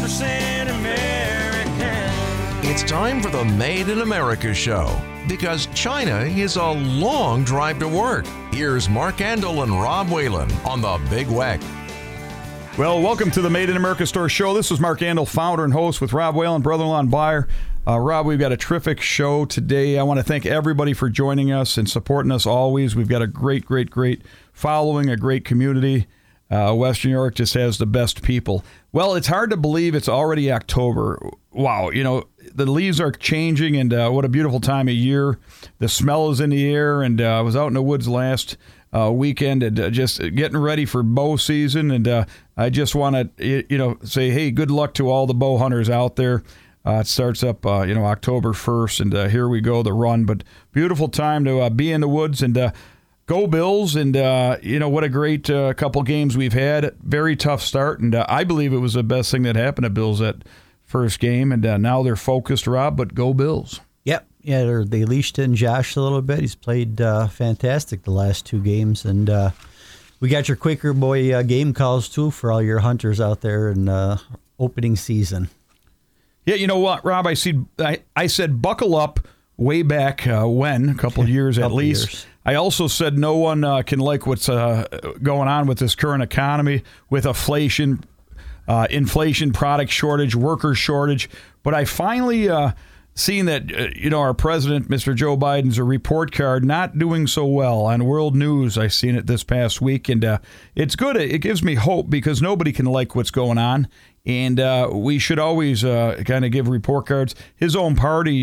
100% American. It's time for the Made in America show, because China is a long drive to work. Here's Mark Andel and Rob Whalen on the Big Weck. Well, welcome to the Made in America Store show. This is Mark Andel, founder and host with Rob Whalen, brother-in-law and buyer. Rob, we've got a terrific show today. I want to thank everybody for joining us and supporting us always. We've got a great following, a great community. Western New York just has the best people. Well, it's hard to believe it's already October. Wow, the leaves are changing, and what a beautiful time of year. The smell is in the air, and I was out in the woods last weekend and just getting ready for bow season, and I just want to say, hey, good luck to all the bow hunters out there. It starts up, October 1st, and here we go, the run. But beautiful time to be in the woods, and go Bills, and what a great couple games we've had. Very tough start, and I believe it was the best thing that happened to Bills that first game, and now they're focused, Rob, but go Bills. Yep. Yeah, they leashed in Josh a little bit. He's played fantastic the last two games, and we got your Quaker Boy game calls, too, for all your hunters out there in opening season. Yeah, you know what, Rob? I said buckle up way back when, a couple of years at least. Years. I also said no one can like what's going on with this current economy, with inflation, product shortage, worker shortage. But I finally seen that, our president, Mr. Joe Biden's a report card not doing so well on world news. I seen it this past week, and it's good. It gives me hope, because nobody can like what's going on. And we should always kind of give report cards. His own party,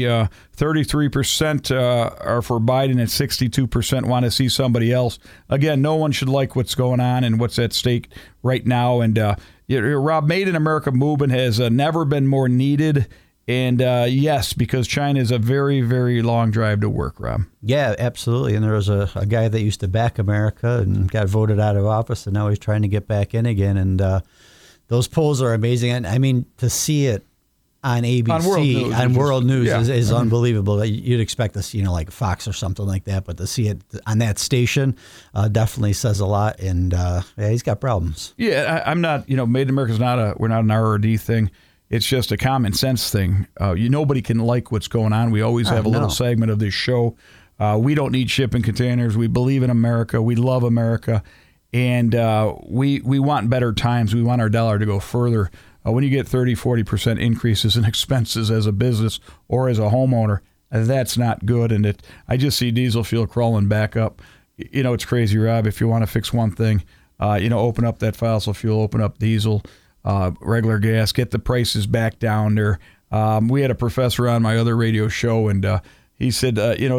33% are for Biden, and 62% want to see somebody else. Again, no one should like what's going on and what's at stake right now. And Rob, Made in America movement has never been more needed. And yes, because China is a very, very long drive to work, Rob. Yeah, absolutely. And there was a guy that used to back America and got voted out of office, and now he's trying to get back in again. And those polls are amazing. And I mean, to see it on ABC, on World News is unbelievable. You'd expect to see, like Fox or something like that, but to see it on that station definitely says a lot. And he's got problems. Yeah, I'm not, Made in America is we're not an RRD thing. It's just a common sense thing. Nobody can like what's going on. We always have a little segment of this show. We don't need shipping containers. We believe in America. We love America. And we want better times. We want our dollar to go further. When you get 30, 40% increases in expenses as a business or as a homeowner, that's not good. And I just see diesel fuel crawling back up. It's crazy, Rob. If you want to fix one thing, open up that fossil fuel, open up diesel, regular gas, get the prices back down there. We had a professor on my other radio show, and he said,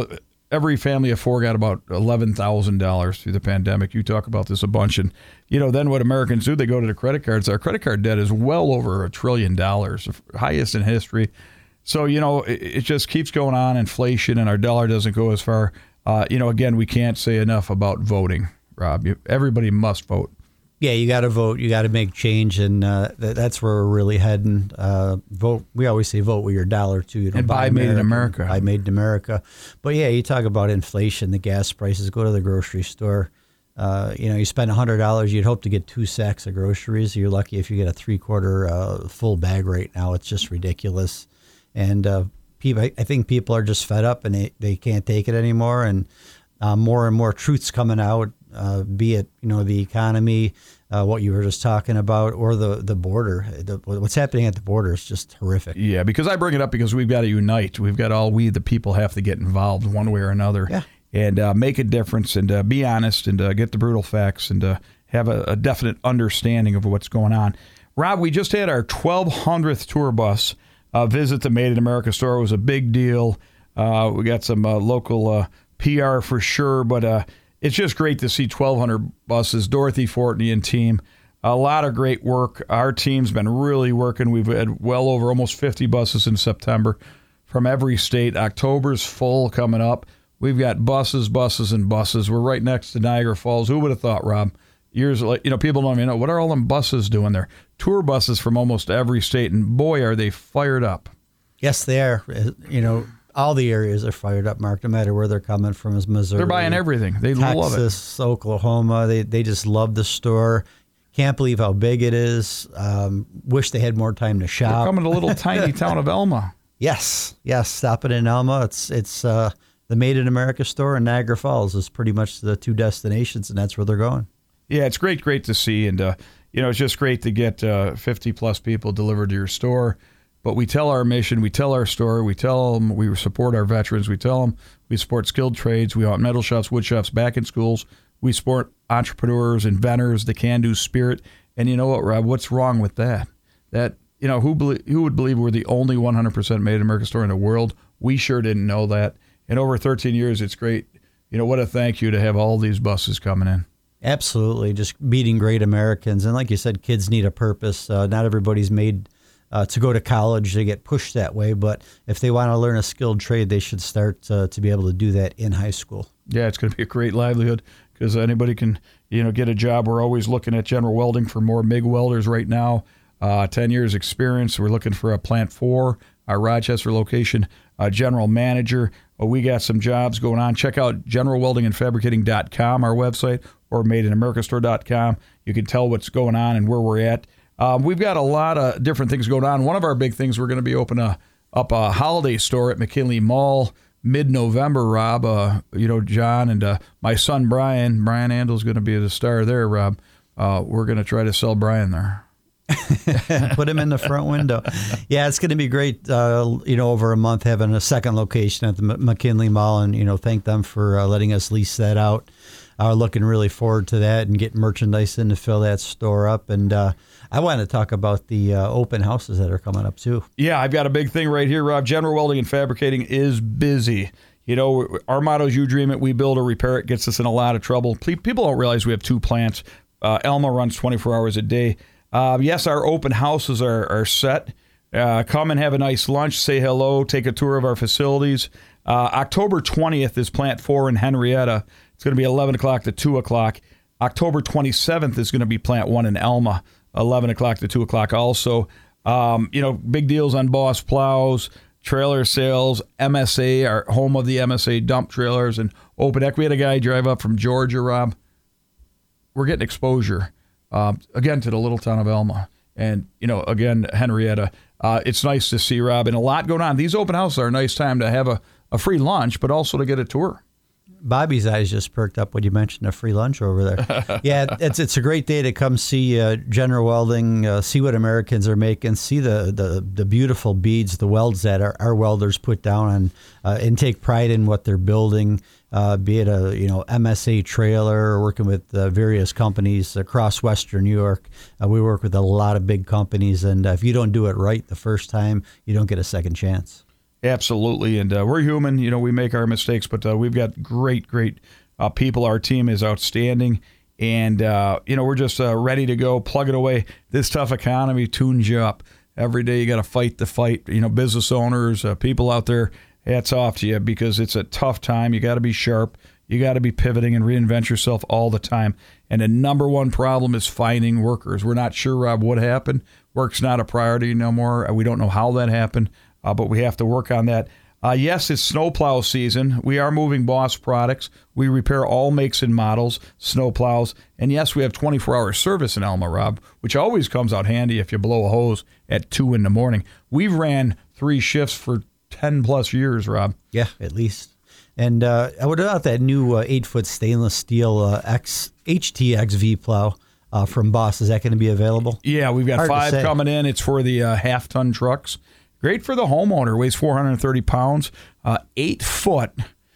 every family of four got about $11,000 through the pandemic. You talk about this a bunch. And, then what Americans do, they go to the credit cards. Our credit card debt is well over $1 trillion, the highest in history. So, it just keeps going on, inflation, and our dollar doesn't go as far. Again, we can't say enough about voting, Rob. Everybody must vote. Yeah, you got to vote. You got to make change, and that's where we're really heading. Vote. We always say vote with your dollar too. And buy Made in America. Buy Made in America. But yeah, you talk about inflation, the gas prices. Go to the grocery store. You spend $100, you'd hope to get 2 sacks of groceries. You're lucky if you get a 3/4 full bag right now. It's just ridiculous, and I think people are just fed up, and they can't take it anymore. And more and more truths coming out. Be it the economy, what you were just talking about, or the border. What's happening at the border is just horrific. Yeah, because I bring it up because we've got to unite. We've got we the people have to get involved one way or another, and make a difference, and be honest, and get the brutal facts, and have a definite understanding of what's going on. Rob, we just had our 1,200th tour bus visit the Made in America store. It was a big deal. We got some local PR for sure, but it's just great to see 1,200 buses. Dorothy Fortney and team, a lot of great work. Our team's been really working. We've had well over almost 50 buses in September from every state. October's full coming up. We've got buses, and buses. We're right next to Niagara Falls. Who would have thought, Rob? Years, people don't even know, what are all them buses doing there? Tour buses from almost every state, and boy, are they fired up. Yes, they are. All the areas are fired up, Mark, no matter where they're coming from, is Missouri. They're buying everything. They love it. Texas, Oklahoma, they just love the store. Can't believe how big it is. Wish they had more time to shop. We're coming to little tiny town of Elma. Yes. Stop it in Elma. It's the Made in America store, and Niagara Falls is pretty much the two destinations, and that's where they're going. Yeah, it's great to see, and it's just great to get 50 plus people delivered to your store. But we tell our mission, we tell our story, we tell them we support our veterans, we tell them we support skilled trades, we want metal shops, wood shops back in schools, we support entrepreneurs, inventors, the can-do spirit. And you know what, Rob? What's wrong with that? Who would believe we're the only 100% Made in America store in the world? We sure didn't know that. In over 13 years, it's great. What a thank you to have all these buses coming in. Absolutely, just meeting great Americans. And like you said, kids need a purpose. Not everybody's made to go to college. They get pushed that way. But if they want to learn a skilled trade, they should start to be able to do that in high school. Yeah, it's going to be a great livelihood because anybody can, get a job. We're always looking at General Welding for more MIG welders right now. 10 years experience. We're looking for a Plant 4, our Rochester location general manager. We got some jobs going on. Check out generalweldingandfabricating.com, our website, or madeinAmericaStore.com. You can tell what's going on and where we're at. We've got a lot of different things going on. One of our big things, we're going to be opening up a holiday store at McKinley Mall mid-November, Rob. John and my son Brian Andel's going to be the star there, Rob. We're going to try to sell Brian there. Put him in the front window. Yeah, it's going to be great, over a month having a second location at the McKinley Mall, and, thank them for letting us lease that out. Looking really forward to that and getting merchandise in to fill that store up. And I want to talk about the open houses that are coming up, too. Yeah, I've got a big thing right here, Rob. General Welding and Fabricating is busy. Our motto is you dream it, we build or repair it. Gets us in a lot of trouble. People don't realize we have two plants. Elma runs 24 hours a day. Yes, our open houses are set. Come and have a nice lunch, say hello, take a tour of our facilities. October 20th is Plant 4 in Henrietta. It's going to be 11 o'clock to 2 o'clock. October 27th is going to be Plant 1 in Elma, 11 o'clock to 2 o'clock also. Big deals on Boss plows, trailer sales, MSA, our home of the MSA dump trailers, and Open Deck. We had a guy drive up from Georgia, Rob. We're getting exposure. Again, to the little town of Elma. And, again, Henrietta. It's nice to see, Rob, and a lot going on. These open houses are a nice time to have a free lunch, but also to get a tour. Bobby's eyes just perked up when you mentioned a free lunch over there. Yeah, it's a great day to come see General Welding, see what Americans are making, see the beautiful beads, the welds that our welders put down on, and take pride in what they're building. Be it a MSA trailer, or working with various companies across Western New York. We work with a lot of big companies, and if you don't do it right the first time, you don't get a second chance. Absolutely, and we're human. We make our mistakes, but we've got great people. Our team is outstanding, and we're just ready to go. Plug it away. This tough economy tunes you up. Every day you got to fight the fight. Business owners, people out there, hats off to you, because it's a tough time. You got to be sharp. You got to be pivoting and reinvent yourself all the time. And the number one problem is finding workers. We're not sure, Rob, what happened. Work's not a priority no more. We don't know how that happened. But we have to work on that. Yes, it's snowplow season. We are moving Boss products. We repair all makes and models, snowplows. And yes, we have 24-hour service in Elma, Rob, which always comes out handy if you blow a hose at 2 in the morning. We've ran 3 shifts for 10-plus years, Rob. Yeah, at least. And what about that new 8-foot stainless steel HTX V-plow from Boss? Is that going to be available? Yeah, we've got 5 coming in. It's for the half-ton trucks. Great for the homeowner. Weighs 430 pounds. 8-foot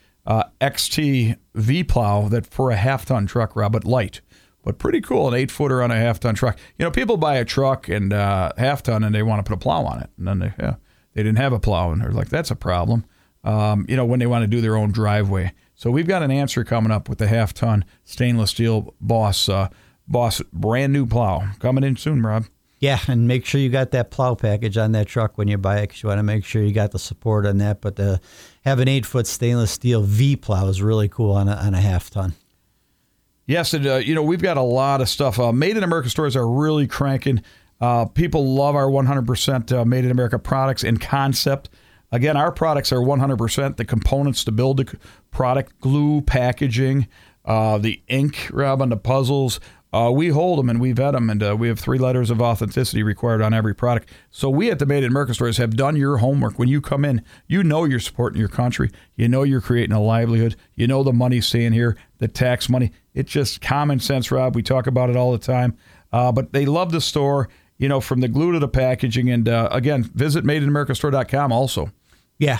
XT V-plow that for a half-ton truck, Rob, but light. But pretty cool, an 8-footer on a half-ton truck. People buy a truck and half-ton and they want to put a plow on it. And then they didn't have a plow, and they're like, that's a problem. When they want to do their own driveway. So we've got an answer coming up with the half-ton stainless steel Boss brand new plow coming in soon, Rob. Yeah, and make sure you got that plow package on that truck when you buy it, because you want to make sure you got the support on that. But to have an 8-foot stainless steel V-plow is really cool on a half-ton. Yes, and we've got a lot of stuff. Made in America stores are really cranking. People love our 100% Made in America products and concept. Again, our products are 100%. The components to build the product, glue, packaging, the ink, Rob, on the puzzles, We hold them and we vet them, and we have 3 letters of authenticity required on every product. So we at the Made in America stores have done your homework. When you come in, you know you're supporting your country. You know you're creating a livelihood. You know the money's staying here, the tax money. It's just common sense, Rob. We talk about it all the time. But they love the store, from the glue to the packaging. And again, visit MadeInAmericaStore.com also. Yeah,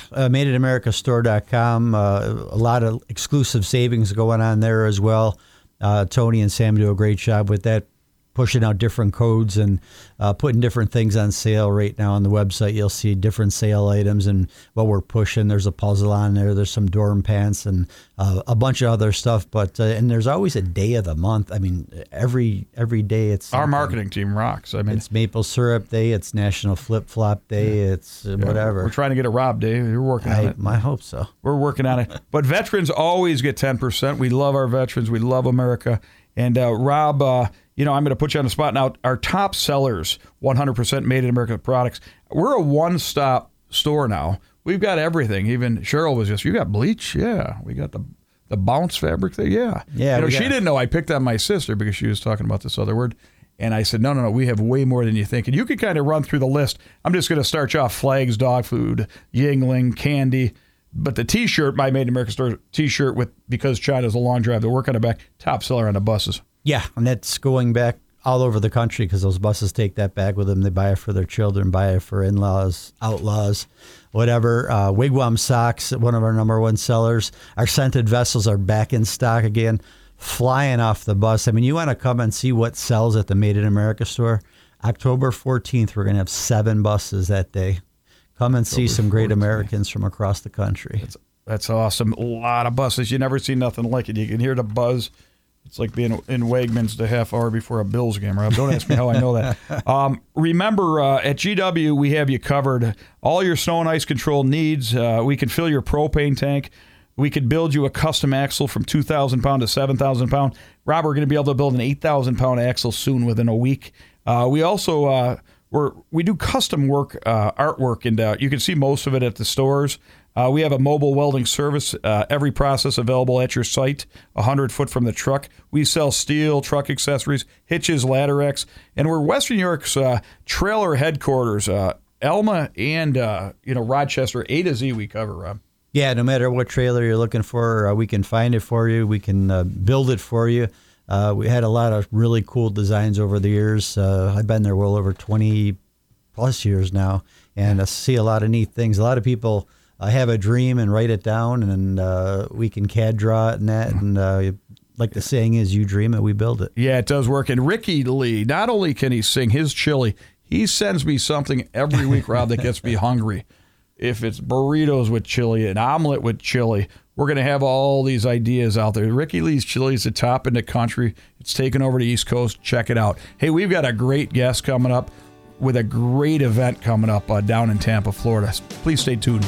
MadeInAmericaStore.com. A lot of exclusive savings going on there as well. Tony and Sam do a great job with that, pushing out different codes and putting different things on sale right now on the website. You'll see different sale items and what we're pushing. There's a puzzle on there. There's some dorm pants and a bunch of other stuff. But and there's always a day of the month. I mean, every day it's our marketing team rocks. I mean, it's Maple Syrup Day. It's National Flip Flop Day. It's whatever. We're trying to get a Rob Day. You're working on it. I hope so. We're working on it. But veterans always get 10%. We love our veterans. We love America. And Rob, I'm going to put you on the spot now. Our top sellers, 100% Made in America products. We're a one-stop store now. We've got everything. Even Cheryl was you got bleach? Yeah. We got the bounce fabric there? Yeah. Yeah. She didn't know I picked on my sister because she was talking about this other word. And I said, no, we have way more than you think. And you could kind of run through the list. I'm just going to start you off: flags, dog food, Yingling, candy. But the T-shirt, my Made in America store T-shirt with "Because China's a Long Drive to Work" on the back, top seller on the buses. Yeah, and that's going back all over the country because those buses take that bag with them. They buy it for their children, buy it for in-laws, outlaws, whatever. Wigwam socks, one of our number one sellers. Our scented vessels are back in stock again, flying off the bus. I mean, you want to come and see what sells at the Made in America store? October 14th, we're going to have 7 buses that day. Come and see some great Americans from across the country. That's awesome. A lot of buses. You never see nothing like it. You can hear the buzz. It's like being in Wegmans the half hour before a Bills game, Rob. Don't ask me how I know that. Remember, at GW, we have you covered. All your snow and ice control needs. We can fill your propane tank. We could build you a custom axle from 2,000 pound to 7,000 pound. Rob, we're going to be able to build an 8,000 pound axle soon within a week. We also... We do custom work, artwork, and you can see most of it at the stores. We have a mobile welding service, every process available at your site, 100 foot from the truck. We sell steel, truck accessories, hitches, ladder X, and we're Western New York's trailer headquarters. Elma and Rochester, A to Z we cover, Rob. Yeah, no matter what trailer you're looking for, we can find it for you. We can build it for you. We had a lot of really cool designs over the years. I've been there well over 20 plus years now, and I see a lot of neat things. A lot of people have a dream and write it down, and we can CAD draw it and that. And like the saying is, you dream it, we build it. Yeah, it does work. And Ricky Lee, not only can he sing his chili, he sends me something every week, Rob, that gets me hungry. If it's burritos with chili, an omelet with chili, we're going to have all these ideas out there. Ricky Lee's Chili is the top in the country. It's taken over the East Coast. Check it out. Hey, we've got a great guest coming up with a great event coming up down in Tampa, Florida. Please stay tuned.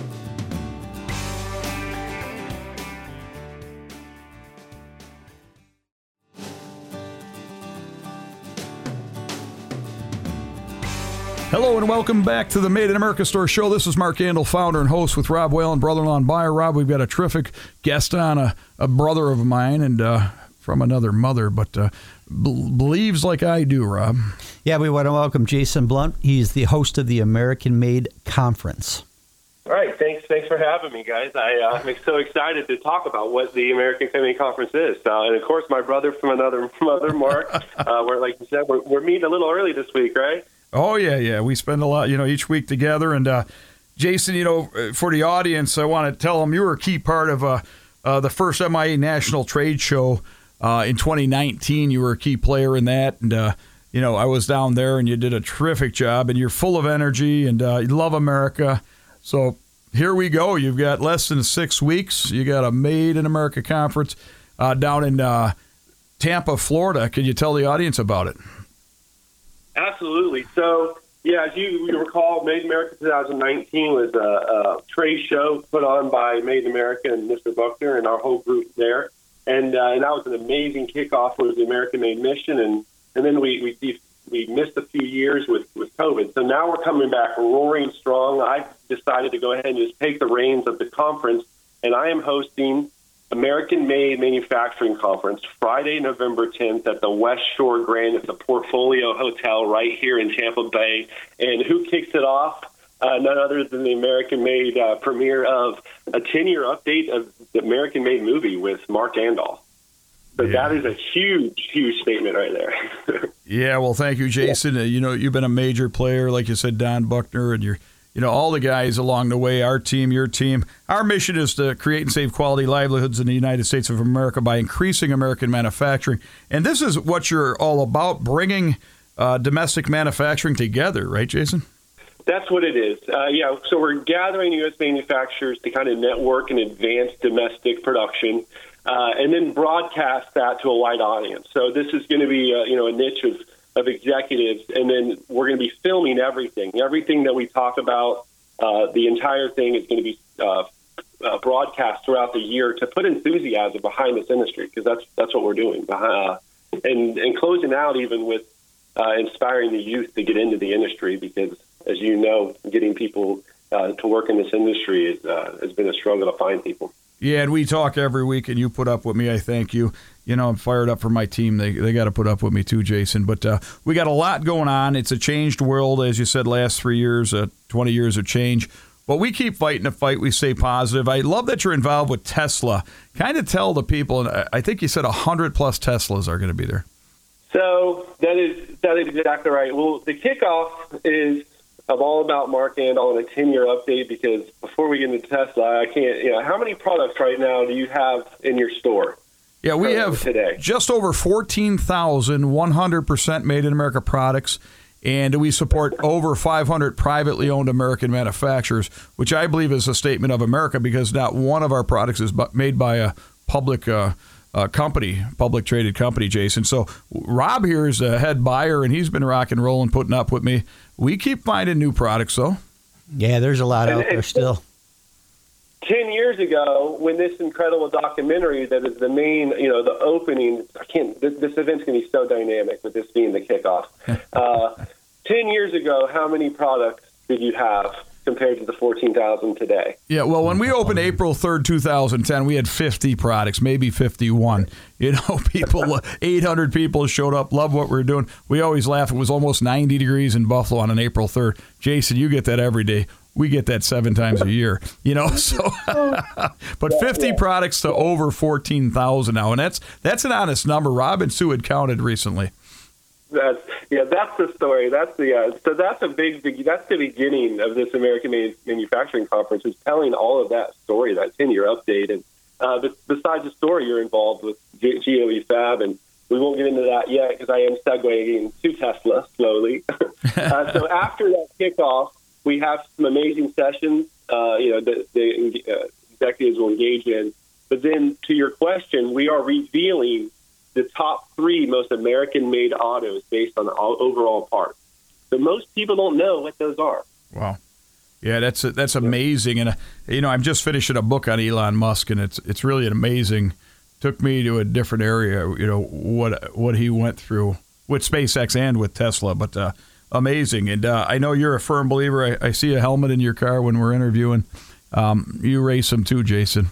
Hello and welcome back to the Made in America Store Show. This is Mark Andel, founder and host with Rob Whalen, brother-in-law and buyer. Rob, we've got a terrific guest on, a brother of mine and from another mother, but believes like I do, Rob. Yeah, we want to welcome Jason Blunt. He's the host of the American Made Conference. All right, thanks for having me, guys. I'm so excited to talk about what the American Made Conference is. And of course, my brother from another mother, Mark. We're like you said, we're meeting a little early this week, right? Oh, yeah. We spend a lot, each week together. And Jason, for the audience, I want to tell them you were a key part of the first MIA National Trade Show in 2019. You were a key player in that. And, I was down there and you did a terrific job. And you're full of energy and you love America. So here we go. You've got less than 6 weeks. You got a Made in America conference down in Tampa, Florida. Can you tell the audience about it? Absolutely. So, yeah, as you recall, Made in America 2019 was a trade show put on by Made in America and Mr. Buckner and our whole group there. And that was an amazing kickoff with the American Made mission. And then we missed a few years with COVID. So now we're coming back roaring strong. I decided to go ahead and just take the reins of the conference. And I am hosting American Made Manufacturing Conference, Friday, November 10th at the West Shore Grand. It's a Portfolio Hotel right here in Tampa Bay. And who kicks it off? None other than the American Made premiere of a 10-year update of the American Made movie with Mark Andol. So that is a huge, huge statement right there. Yeah, well, thank you, Jason. You've been a major player, like you said, Don Buckner, and you're all the guys along the way, our team, your team. Our mission is to create and save quality livelihoods in the United States of America by increasing American manufacturing. And this is what you're all about, bringing domestic manufacturing together, right, Jason? That's what it is. So we're gathering U.S. manufacturers to kind of network and advance domestic production, and then broadcast that to a wide audience. So this is going to be a niche of executives, and then we're going to be filming everything that we talk about. The entire thing is going to be broadcast throughout the year to put enthusiasm behind this industry, because that's what we're doing. And closing out even with inspiring the youth to get into the industry, because as you know, getting people to work in this industry has been a struggle to find people. Yeah, and we talk every week, and you put up with me. I thank you. I'm fired up for my team. They got to put up with me too, Jason. But we got a lot going on. It's a changed world, as you said, last 3 years, 20 years of change. But we keep fighting the fight. We stay positive. I love that you're involved with Tesla. Kind of tell the people, and I think you said 100-plus Teslas are going to be there. So that is exactly right. Well, the kickoff is all about Mark Andol and a 10-year update, because before we get into Tesla, I can't, how many products right now do you have in your store? Yeah, we have today just over 14,000 100% made in America products, and we support over 500 privately owned American manufacturers, which I believe is a statement of America, because not one of our products is made by a public company, public traded company, Jason. So Rob here is a head buyer, and he's been rock and rolling, putting up with me. We keep finding new products, though. Yeah, there's a lot out there still. 10 years ago, when this incredible documentary that is the main, the opening, this event's going to be so dynamic with this being the kickoff. 10 years ago, how many products did you have compared to the 14,000 today? Yeah, well, when we opened April 3rd, 2010, we had 50 products, maybe 51. 800 people showed up, loved what we were doing. We always laugh. It was almost 90 degrees in Buffalo on an April 3rd. Jason, you get that every day. We get that 7 times a year, So, but 50 products to over 14,000 now, and that's an honest number. Rob and Sue had counted recently. That's the story. That's that's the beginning of this American Manufacturing Conference, is telling all of that story, that 10-year update. And besides the story, you're involved with GOE Fab, and we won't get into that yet because I am segueing to Tesla slowly. So after that kickoff, we have some amazing sessions, the executives will engage in. But then to your question, we are revealing the top 3 most American-made autos based on the overall parts. So most people don't know what those are. Wow. Yeah, that's amazing. And, I'm just finishing a book on Elon Musk, and it's really amazing. Took me to a different area, what he went through with SpaceX and with Tesla, but amazing. And I know you're a firm believer. I see a helmet in your car when we're interviewing. You race them too, Jason.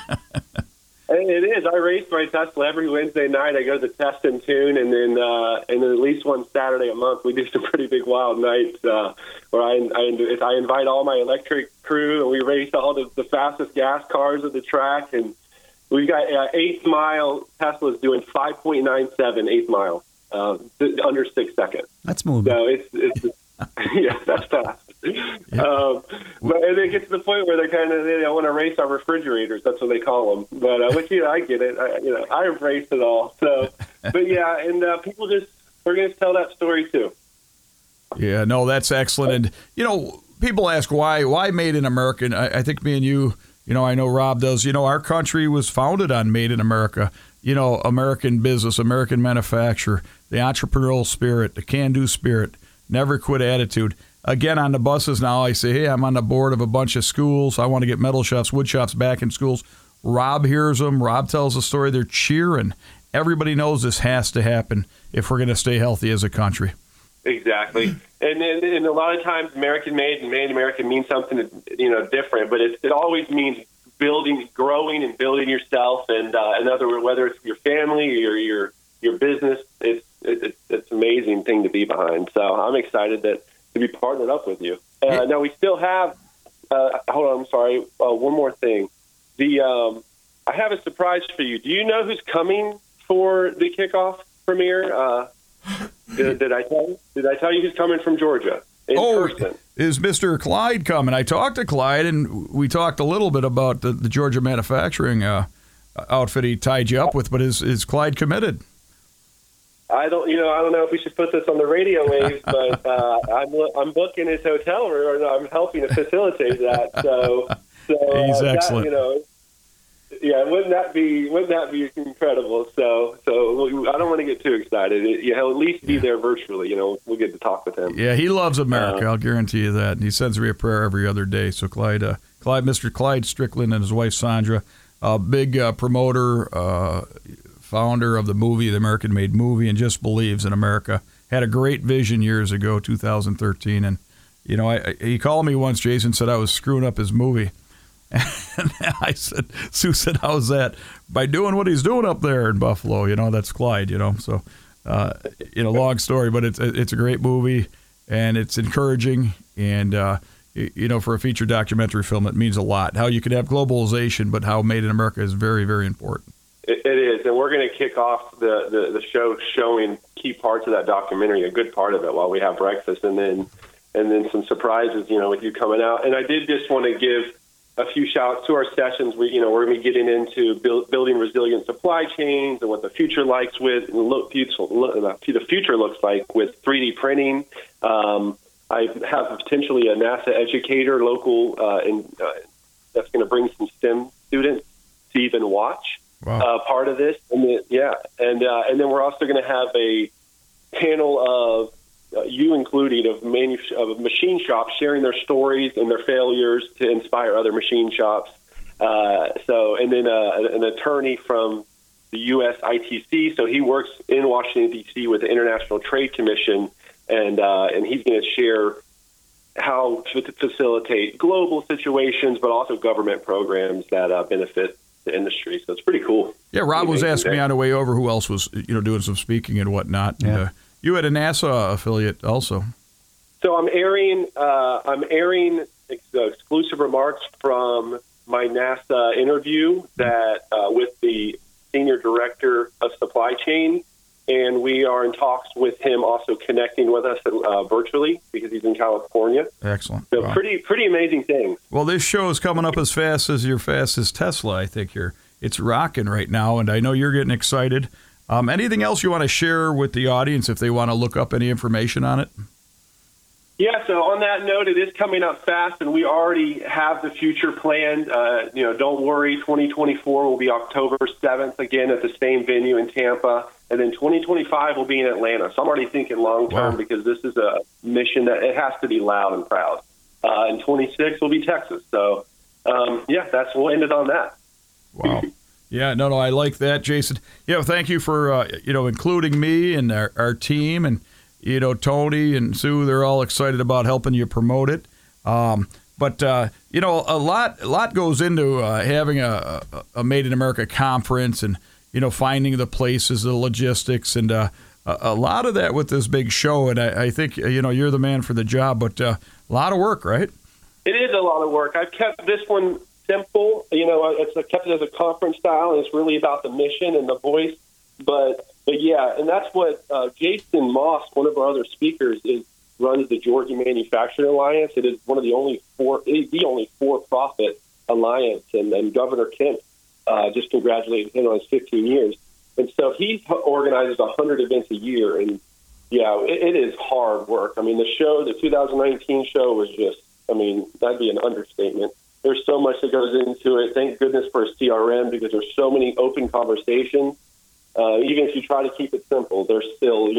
It is. I race my Tesla every Wednesday night. I go to the Test and Tune, and then at least one Saturday a month we do some pretty big wild nights where I invite all my electric crew, and we race all the fastest gas cars at the track. And we've got 8th mile Teslas doing 5.97 8th mile under 6 seconds. That's moving. So it's yeah, that's fast. But it gets to the point where they want to race our refrigerators. That's what they call them. But I get it. I embrace it all. So, but yeah, and we're going to tell that story too. Yeah, no, that's excellent. And people ask why Made in America. I think me and you, I know Rob does. Our country was founded on Made in America. American business, American manufacturer, the entrepreneurial spirit, the can-do spirit. Never quit attitude. Again, on the buses now, I say, hey, I'm on the board of a bunch of schools. I want to get metal shops, wood shops back in schools. Rob hears them. Rob tells the story. They're cheering. Everybody knows this has to happen if we're going to stay healthy as a country. Exactly. And a lot of times American made and made in America means something, different, but it always means growing and building yourself, and in other words, whether it's your family or your business, it's an amazing thing to be behind. So I'm excited to be partnered up with you. Now we still have. Hold on, I'm sorry. One more thing. I have a surprise for you. Do you know who's coming for the kickoff premiere? Did I tell you? Did I tell you who's coming from Georgia in person? Is Mr. Clyde coming? I talked to Clyde, and we talked a little bit about the Georgia manufacturing outfit he tied you up with. But is Clyde committed? I don't know if we should put this on the radio waves, but I'm booking his hotel room, or I'm helping to facilitate that. So he's excellent. Yeah, wouldn't that be incredible? So I don't want to get too excited. He'll at least be there virtually. We'll get to talk with him. Yeah, he loves America. I'll guarantee you that. And he sends me a prayer every other day. So Mr. Clyde Strickland and his wife Sandra, big promoter, founder of the movie, the American Made Movie, and just believes in America. Had a great vision years ago, 2013, and he called me once. Jason said I was screwing up his movie. And Sue said, how's that? By doing what he's doing up there in Buffalo, that's Clyde, So, long story, but it's a great movie, and it's encouraging, and, for a feature documentary film, it means a lot. How you could have globalization, but how Made in America is very, very important. It is, and we're going to kick off the show showing key parts of that documentary, a good part of it, while we have breakfast, and then some surprises, with you coming out. And I did just want to give a few shouts to our sessions. We're going to be getting into building resilient supply chains and what the future the future looks like with 3D printing. I have potentially a NASA educator local, that's going to bring some STEM students to even watch part of this. And then we're also going to have a panel of you included, of machine shops sharing their stories and their failures to inspire other machine shops. And then an attorney from the U.S. ITC. So he works in Washington, D.C. with the International Trade Commission, and he's going to share how to facilitate global situations, but also government programs that benefit the industry. So it's pretty cool. Yeah, Rob was asking me on the way over who else was doing some speaking and whatnot. Yeah. And, you had a NASA affiliate also. So I'm airing exclusive remarks from my NASA interview that with the Senior Director of Supply Chain, and we are in talks with him also connecting with us virtually because he's in California. Excellent. So pretty amazing things. Well, this show is coming up as fast as your fastest Tesla. I think it's rocking right now, and I know you're getting excited. Anything else you want to share with the audience if they want to look up any information on it? Yeah, so on that note, it is coming up fast, and we already have the future planned. Don't worry, 2024 will be October 7th, again, at the same venue in Tampa. And then 2025 will be in Atlanta. So I'm already thinking long-term because this is a mission that it has to be loud and proud. And 26 will be Texas. So, we'll end it on that. Wow. Yeah, no, I like that, Jason. Thank you for, including me and our team, and, Tony and Sue, they're all excited about helping you promote it. But a lot goes into having a Made in America conference and, finding the places, the logistics, and a lot of that with this big show. And I think, you're the man for the job, but a lot of work, right? It is a lot of work. I've kept this one simple. It's kept it as a conference style, and it's really about the mission and the voice. But yeah, and that's what Jason Moss, one of our other speakers, runs the Georgia Manufacturing Alliance. It is one of the only for-profit alliance, and Governor Kemp just congratulated him on his 15 years. And so he organizes 100 events a year, and it is hard work. I mean, the 2019 show was just, that'd be an understatement. There's so much that goes into it. Thank goodness for a CRM, because there's so many open conversations. Even if you try to keep it simple, there's still,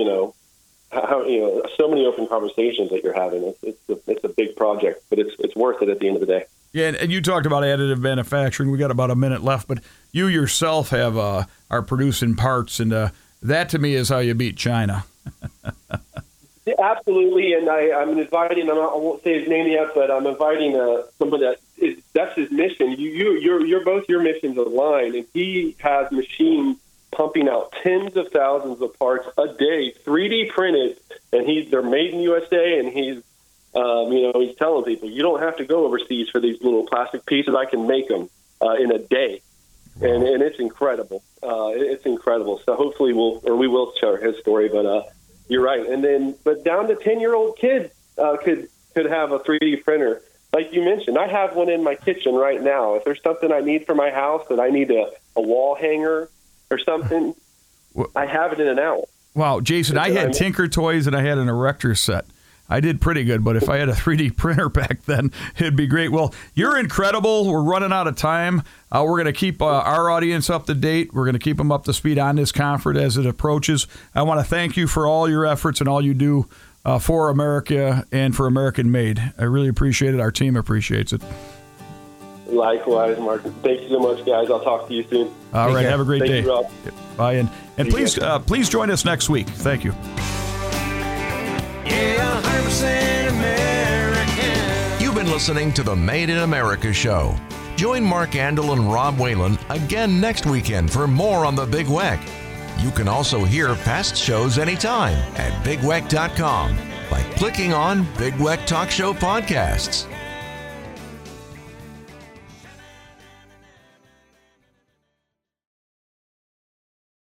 so many open conversations that you're having. It's a big project, but it's worth it at the end of the day. Yeah, and you talked about additive manufacturing. We got about a minute left, but you yourself are producing parts, and that to me is how you beat China. Absolutely, and I'm inviting. I won't say his name yet, but I'm inviting somebody that's his mission. You're both your missions aligned, and he has machines pumping out tens of thousands of parts a day, 3D printed, and they're made in USA, and he's he's telling people you don't have to go overseas for these little plastic pieces. I can make them in a day, and it's incredible. It's incredible. So hopefully we will share his story, but. You're right, but down to 10-year-old kids could have a 3D printer, like you mentioned. I have one in my kitchen right now. If there's something I need for my house, that I need a wall hanger or something, I have it in an hour. Wow, Jason, I had Tinker Toys and I had an Erector set. I did pretty good, but if I had a 3D printer back then, it'd be great. Well, you're incredible. We're running out of time. We're going to keep our audience up to date. We're going to keep them up to speed on this conference as it approaches. I want to thank you for all your efforts and all you do for America and for American Made. I really appreciate it. Our team appreciates it. Likewise, Mark. Thank you so much, guys. I'll talk to you soon. All right. Have a great day. You, Rob. Bye. And please join us next week. Thank you. Yeah, 100% American. You've been listening to the Made in America show. Join Mark Andel and Rob Whalen again next weekend for more on the Big Weck. You can also hear past shows anytime at bigweck.com by clicking on Big Weck Talk Show Podcasts.